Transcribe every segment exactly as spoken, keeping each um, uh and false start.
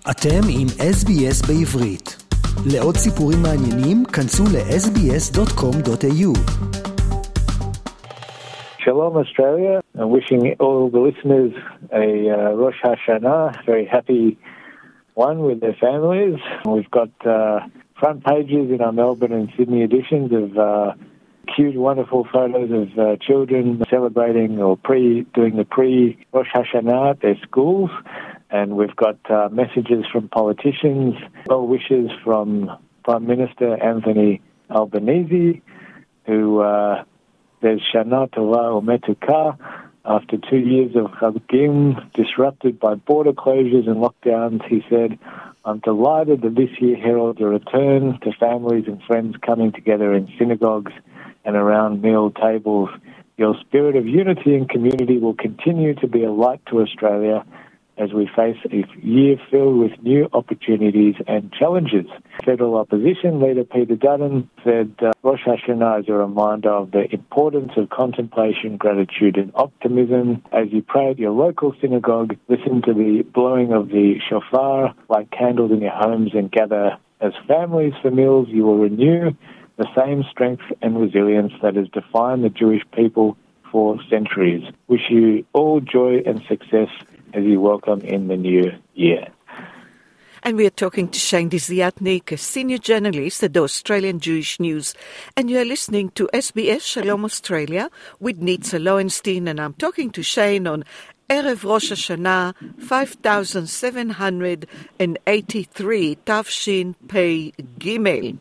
אתם עם אס בי אס בעברית. לעוד סיפורים מעניינים, כנסו ל-אס בי אס דוט קום דוט איי יו. Shalom Australia. I'm wishing all the listeners a uh, Rosh Hashanah, very happy one with their families. We've got uh, front pages in our Melbourne and Sydney editions of uh, cute, wonderful photos of uh, children celebrating or pre doing the pre-Rosh Hashanah at their schools. And we've got uh, messages from politicians, well wishes from Prime Minister Anthony Albanese, who uh, there's Shana Tova Umetuka. After two years of Chagim disrupted by border closures and lockdowns, he said, I'm delighted that this year heralds a return to families and friends coming together in synagogues and around meal tables. Your spirit of unity and community will continue to be a light to Australia as we face a year filled with new opportunities and challenges. Federal opposition leader Peter Dutton said uh, Rosh Hashanah is a reminder of the importance of contemplation, gratitude and optimism. As you pray at your local synagogue, listen to the blowing of the shofar, light candles in your homes and gather as families for meals. You will renew the same strength and resilience that has defined the Jewish people for centuries. Wish you all joy and success as you welcome in the new year. And we are talking to Shane Desiatnik, a senior journalist at the Australian Jewish News. And you are listening to S B S Shalom Australia with Nitza Lowenstein. And I'm talking to Shane on Erev Rosh Hashanah five thousand seven hundred eighty-three Tavshin Pei Gimel.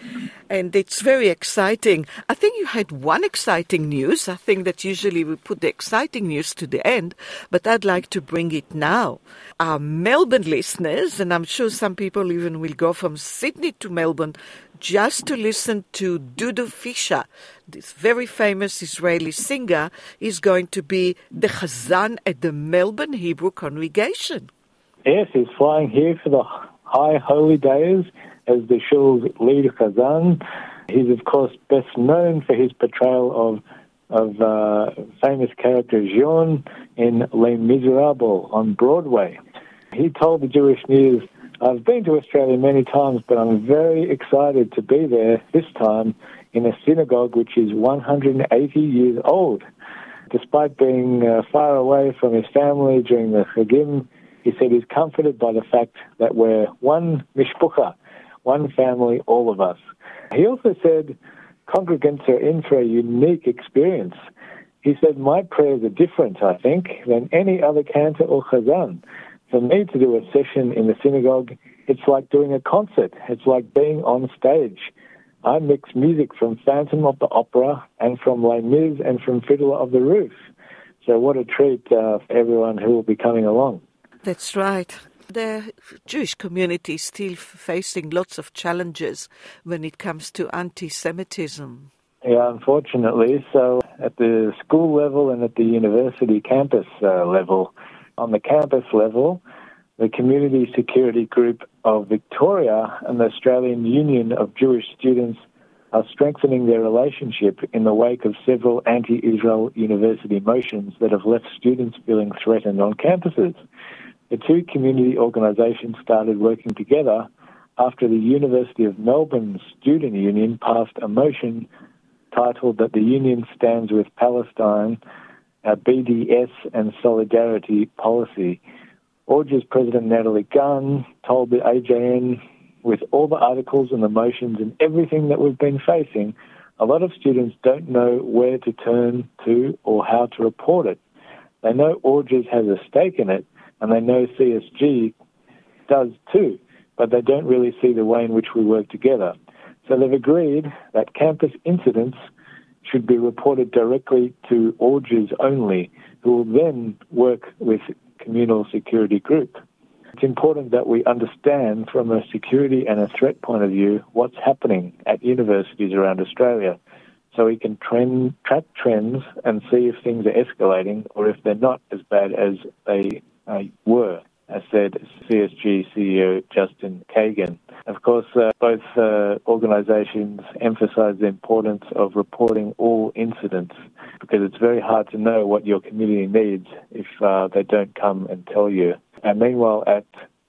And it's very exciting. I think you had one exciting news. I think that usually we put the exciting news to the end, but I'd like to bring it now. Our Melbourne listeners, and I'm sure some people even will go from Sydney to Melbourne just to listen to Dudu Fisher, this very famous Israeli singer, is going to be the Chazan at the Melbourne Hebrew congregation. Yes, he's flying here for the High Holy Days as the shul's lead Chazan. He's, of course, best known for his portrayal of of uh, famous character Jean in Les Miserables on Broadway. He told the Jewish News, I've been to Australia many times, but I'm very excited to be there this time in a synagogue which is one hundred eighty years old. Despite being uh, far away from his family during the Chagim, he said he's comforted by the fact that we're one mishpucha, one family, all of us. He also said congregants are in for a unique experience. He said, my prayers are different, I think, than any other cantor or chazan. For me to do a session in the synagogue, it's like doing a concert. It's like being on stage. I mix music from Phantom of the Opera and from Les Mis and from Fiddler of the Roof. So what a treat uh, for everyone who will be coming along. That's right. The Jewish community is still facing lots of challenges when it comes to anti-Semitism. Yeah, unfortunately. So at the school level and at the university campus uh, level, on the campus level, the Community Security Group of Victoria and the Australian Union of Jewish Students are strengthening their relationship in the wake of several anti-Israel university motions that have left students feeling threatened on campuses. The two community organisations started working together after the University of Melbourne Student Union passed a motion titled that the union stands with Palestine, a B D S and solidarity policy. O J's President Natalie Gunn told the A J N, with all the articles and the motions and everything that we've been facing, a lot of students don't know where to turn to or how to report it. They know O J has a stake in it, and they know C S G does too, but they don't really see the way in which we work together. So they've agreed that campus incidents should be reported directly to O J S only, who will then work with Communal Security Group. It's important that we understand from a security and a threat point of view what's happening at universities around Australia, so we can trend, track trends and see if things are escalating or if they're not as bad as they uh, were, as said C S G C E O Justin Kagan. Of course, uh, both uh, organisations emphasise the importance of reporting all incidents, because it's very hard to know what your community needs if uh, they don't come and tell you. And meanwhile, at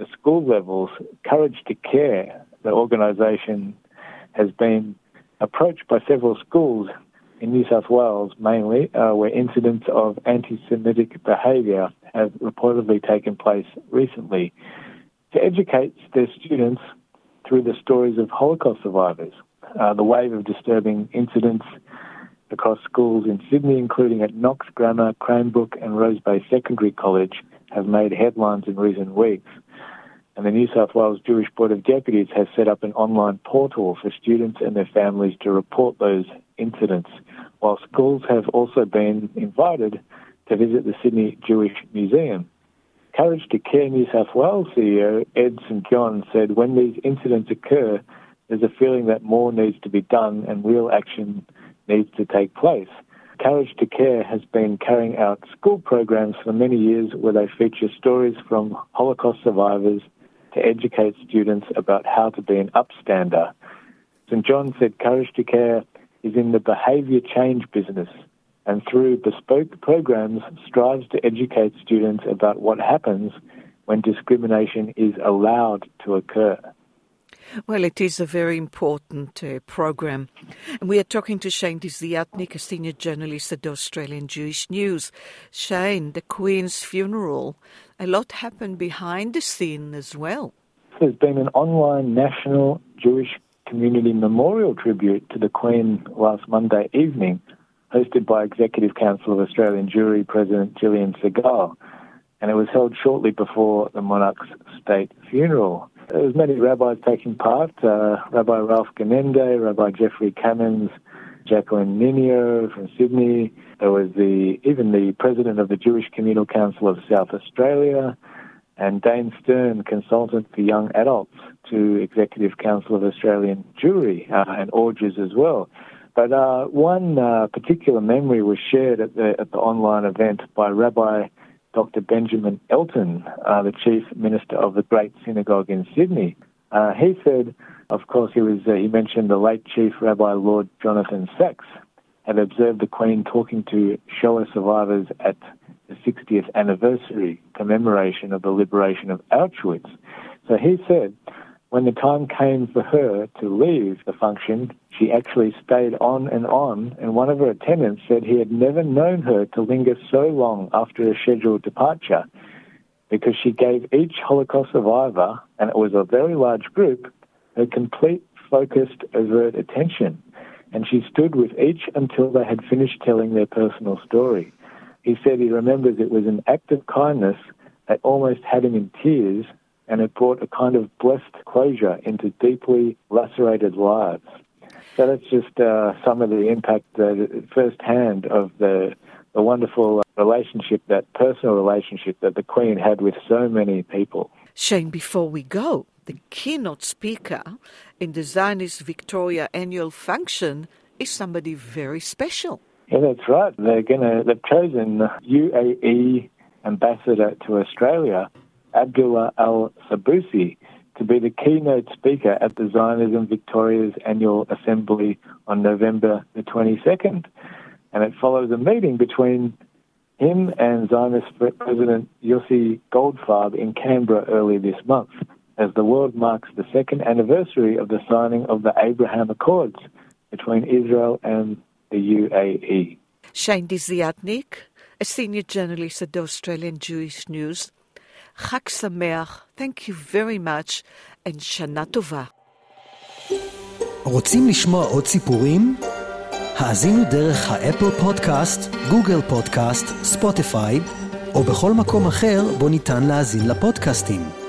the school levels, Courage to Care, the organisation, has been approached by several schools in New South Wales mainly, uh, where incidents of anti-Semitic behaviour have reportedly taken place recently, to educate their students through the stories of Holocaust survivors. Uh, the wave of disturbing incidents across schools in Sydney, including at Knox Grammar, Cranebrook and Rose Bay Secondary College, have made headlines in recent weeks. And the New South Wales Jewish Board of Deputies has set up an online portal for students and their families to report those incidents, while schools have also been invited to visit the Sydney Jewish Museum. Courage to Care New South Wales C E O Ed Saint John said, when these incidents occur, there's a feeling that more needs to be done and real action needs to take place. Courage to Care has been carrying out school programs for many years where they feature stories from Holocaust survivors to educate students about how to be an upstander. Saint John said Courage to Care is in the behaviour change business and through bespoke programs strives to educate students about what happens when discrimination is allowed to occur. Well, it is a very important uh, program. And we are talking to Shane Desiatnik, a senior journalist at the Australian Jewish News. Shane, the Queen's funeral, a lot happened behind the scene as well. There's been an online national Jewish community memorial tribute to the Queen last Monday evening, hosted by Executive Council of Australian Jewry President Gillian Segal, and it was held shortly before the monarch's state funeral. There was many rabbis taking part, uh, Rabbi Ralph Genende, Rabbi Jeffrey Cammons, Jacqueline Ninio from Sydney. There was the even the president of the Jewish Communal Council of South Australia, and Dane Stern, consultant for young adults to Executive Council of Australian Jewry, uh, and Orges as well. But uh, one uh, particular memory was shared at the at the online event by Rabbi Doctor Benjamin Elton, uh, the Chief Minister of the Great Synagogue in Sydney. Uh, he said, of course, he was uh, he mentioned the late Chief Rabbi Lord Jonathan Sacks had observed the Queen talking to Shoah survivors at the sixtieth anniversary commemoration of the liberation of Auschwitz. So he said, when the time came for her to leave the function, she actually stayed on and on, and one of her attendants said he had never known her to linger so long after a scheduled departure, because she gave each Holocaust survivor, and it was a very large group, her complete, focused, overt attention, and she stood with each until they had finished telling their personal story. He said he remembers it was an act of kindness that almost had him in tears, and it brought a kind of blessed closure into deeply lacerated lives. So that's just uh, some of the impact uh, firsthand of the, the wonderful relationship, that personal relationship that the Queen had with so many people. Shane, before we go, the keynote speaker in the Zionist Victoria annual function is somebody very special. Yeah, that's right. They're gonna, they've chosen U A E ambassador to Australia, Abdullah Al-Sabusi, to be the keynote speaker at the Zionism Victoria's annual assembly on November the twenty-second. And it follows a meeting between him and Zionist President Yossi Goldfarb in Canberra early this month, as the world marks the second anniversary of the signing of the Abraham Accords between Israel and the U A E. Shane Desiatnik, a senior journalist at the Australian Jewish News. Chag Sameach, thank you very much, and Shana Tova. רוצים לשמוע עוד סיפורים? האזינו דרך האפל פודקאסט, גוגל פודקאסט, ספוטיפיי, או בכל מקום אחר בו ניתן להאזין לפודקאסטים.